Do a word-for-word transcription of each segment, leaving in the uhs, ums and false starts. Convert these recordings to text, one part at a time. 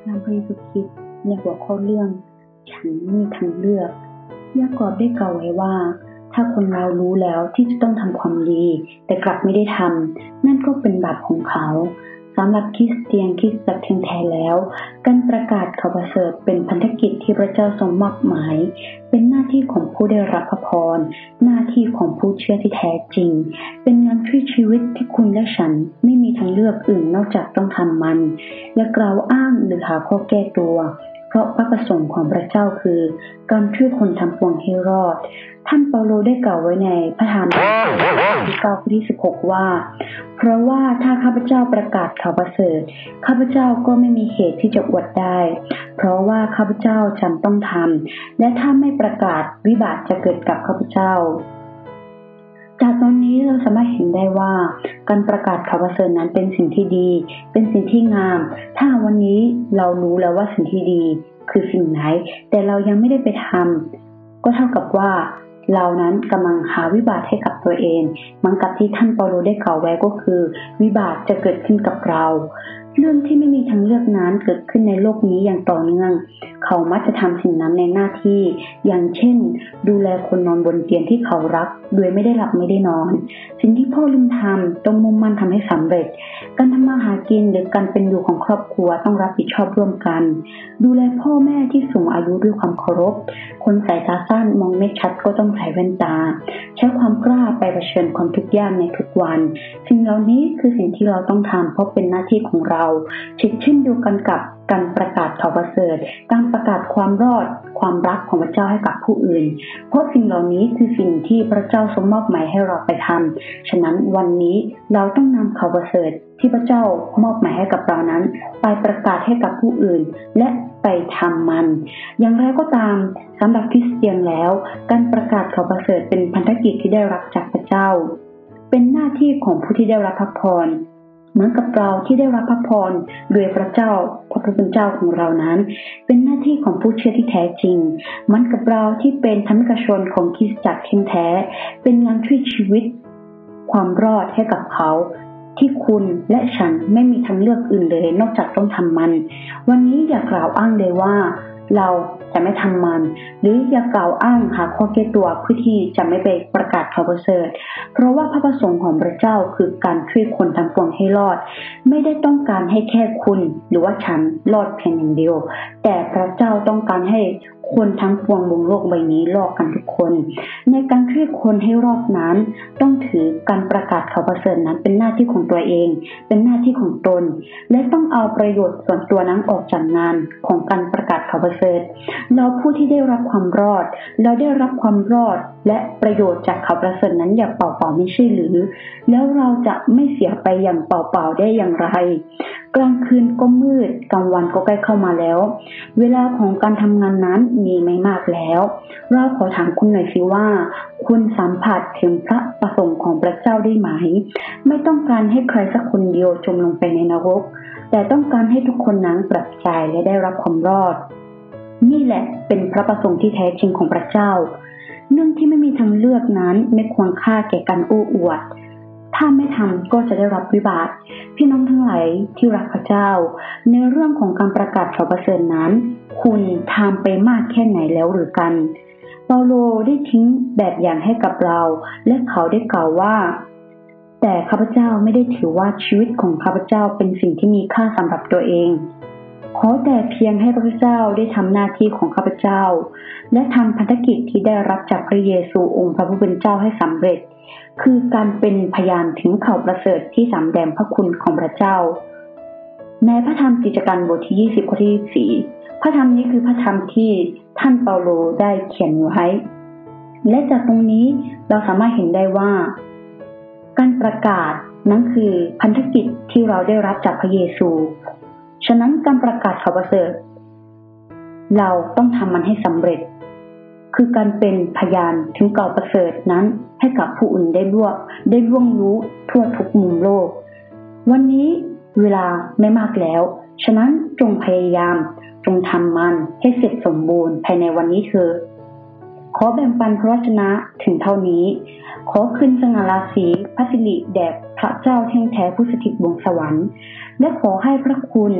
นำพระเยซูคริสต์ในหัวข้อเรื่องฉันไม่มีทางเลือกยากอบได้กล่าวไว้ว่าถ้าคนเรารู้แล้วที่จะต้องทำความดีแต่กลับไม่ได้ทำนั่นก็เป็นบาปของเขาสำหรับคริสเตียนคริสตจักรแท้แล้วการประกาศข่าวประเสริฐเป็นพันธกิจที่พระเจ้าทรงมอบหมายเป็นหน้าที่ของผู้ได้รับพระพรหน้าที่ของผู้เชื่อที่แท้จริงเป็นงานช่วยชีวิตที่คุณและฉันไม่มีทางเลือกอื่นนอกจากต้องทำมันอย่ากล่าวอ้างหรือหาข้อแก้ตัวเพราะพระประสงค์ของพระเจ้าคือการช่วยคนทั้งปวงให้รอดท่านเปาโลได้กล่าวไว้ในพระธรรมที่เก้าข้อที่สิบหกว่าเพราะว่าถ้าข้าพเจ้าประกาศข่าวประเสริฐข้าพเจ้าก็ไม่มีเหตุที่จะอวดได้เพราะว่าข้าพเจ้าจำต้องทำและถ้าไม่ประกาศวิบัติจะเกิดกับข้าพเจ้าจากตอนนี้เราสามารถเห็นได้ว่าการประกาศข่าวประเสริฐนั้นเป็นสิ่งที่ดีเป็นสิ่งที่งามถ้าวันนี้เรารู้แล้วว่าสิ่งที่ดีคือสิ่งไหนแต่เรายังไม่ได้ไปทำก็เท่ากับว่าเรานั้นกำลังหาวิบัติให้กับตัวเองเหมือนกับที่ท่านเปาโลได้กล่าวไว้ก็คือวิบัติจะเกิดขึ้นกับเราเรื่องที่ไม่มีทางเลือกนั้นเกิดขึ้นในโลกนี้อย่างต่อเนื่องเขามักจะทำสิ่งนั้นในหน้าที่อย่างเช่นดูแลคนนอนบนเตียงที่เขารักโดยไม่ได้หลับไม่ได้นอนสิ่งที่พ่อลืมทำต้องมุ่งมั่นทำให้สำเร็จการทำมาหากินหรือการเป็นอยู่ของครอบครัวต้องรับผิดชอบร่วมกันดูแลพ่อแม่ที่สูงอายุด้วยความเคารพคนสายตาสั้นมองไม่ชัดก็ต้องใส่แว่นตาใช้ความกล้าไปเผชิญความทุกข์ยากในทุกวันสิ่งเหล่านี้คือสิ่งที่เราต้องทำเพราะเป็นหน้าที่ของเราเช่นเดียวกันกับการประกาศข่าวประเสริฐการประกาศความรอดความรักของพระเจ้าให้กับผู้อื่นเพราะสิ่งเหล่านี้คือสิ่งที่พระเจ้าทรงมอบหมายให้เราไปทำฉะนั้นวันนี้เราต้องนำข่าวประเสริฐที่พระเจ้ามอบหมายให้กับเรานั้นไปประกาศให้กับผู้อื่นและไปทำมันอย่างไรก็ตามสำหรับคริสเตียนแล้วการประกาศข่าวประเสริฐเป็นพันธกิจที่ได้รับจากพระเจ้าเป็นหน้าที่ของผู้ที่ได้รับพระพรเหมือนกับเราที่ได้รับพระพรโดยพระเจ้าพระผู้เป็นเจ้าของเรานั้นเป็นหน้าที่ของผู้เชื่อที่แท้จริงเหมือนกับเราที่เป็นธรรมิกชนของคริสตจักรแท้เป็นงานช่วยชีวิตความรอดให้กับเขาที่คุณและฉันไม่มีทางเลือกอื่นเลยนอกจากต้องทำมันวันนี้อย่ากล่าวอ้างเลยว่าเราจะไม่ทำมันหรืออย่ากล่าวอ้างหาข้อแก้ตัวเพื่อที่จะไม่ไปประกาศข่าวประเสริฐเพราะว่าพระประสงค์ของพระเจ้าคือการช่วยคนทั้งปวงให้รอดไม่ได้ต้องการให้แค่คุณหรือว่าฉันรอดเพียงอย่างเดียวแต่พระเจ้าต้องการให้คนทั้งปวงบนโลกใบนี้รอดกันทุกคนในการช่วยคนให้รอดนั้นต้องถือการประกาศข่าวประเสริฐนั้นเป็นหน้าที่ของตัวเองเป็นหน้าที่ของตนและต้องเอาประโยชน์ส่วนตัวนั้นออกจากงานของการประกาศข่าวประเสริฐเราผู้ที่ได้รับความรอดเราได้รับความรอดและประโยชน์จากข่าวประเสริฐนั้นอย่าเปล่าๆไม่ใช่หรือแล้วเราจะไม่เสียไปอย่างเปล่าๆได้อย่างไรกลางคืนก็มืดกลางวันก็ใกล้เข้ามาแล้วเวลาของการทำงานนั้นมีไม่มากแล้วเราขอถามคุณหน่อยสิว่าคุณสัมผัสถึงพระประสงค์ของพระเจ้าได้ไหมไม่ต้องการให้ใครสักคนเดียวจมลงไปในนรกแต่ต้องการให้ทุกคนนั้นปลอดภัยและได้รับความรอดนี่แหละเป็นพระประสงค์ที่แท้จริงของพระเจ้าเรื่องที่ไม่มีทางเลือกนั้นไม่ควรค่าแก่การโอ้อวดถ้าไม่ทำก็จะได้รับวิบากพี่น้องทั้งหลายที่รักพระเจ้าในเรื่องของการประกาศข่าวประเสริฐนั้นคุณทำไปมากแค่ไหนแล้วหรือกันเปาโลได้ทิ้งแบบอย่างให้กับเราและเขาได้กล่าวว่าแต่ข้าพเจ้าไม่ได้ถือว่าชีวิตของข้าพเจ้าเป็นสิ่งที่มีค่าสำหรับตัวเองขอแต่เพียงให้พระเจ้าได้ทำหน้าที่ของข้าพเจ้าและทำพันธกิจที่ได้รับจากพระเยซูองค์พระผู้เป็นเจ้าให้สำเร็จคือการเป็นพยานถึงข่าวประเสริฐที่สำแดงพระคุณของพระเจ้าในพระธรรมกิจการบทที่ยี่สิบข้อที่ยี่สิบสี่พระธรรมนี้คือพระธรรมที่ท่านเปาโลได้เขียนไว้และจากตรงนี้เราสามารถเห็นได้ว่าการประกาศนั้นคือพันธกิจที่เราได้รับจากพระเยซูฉะนั้นการประกาศข่าวประเสริฐเราต้องทำมันให้สำเร็จคือการเป็นพยานถึงข่าวประเสริฐนั้นให้กับผู้อื่นได้ร่วงได้ร่วงรู้ทั่วทุกมุมโลกวันนี้เวลาไม่มากแล้วฉะนั้นจงพยายามจงทำมันให้เสร็จสมบูรณ์ภายในวันนี้เถิดขอแบ่งปันพระวจนะถึงเท่านี้ขอคืนสง่าราศีพระสิริแด่พระเจ้าแท้แท้ผู้สถิตบนสวรรค์และขอให้พระคุณ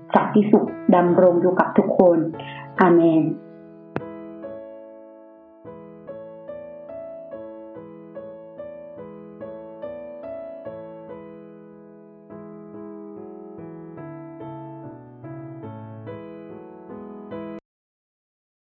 สันติสุขดำรงอยู่กับทุกคนอาเมน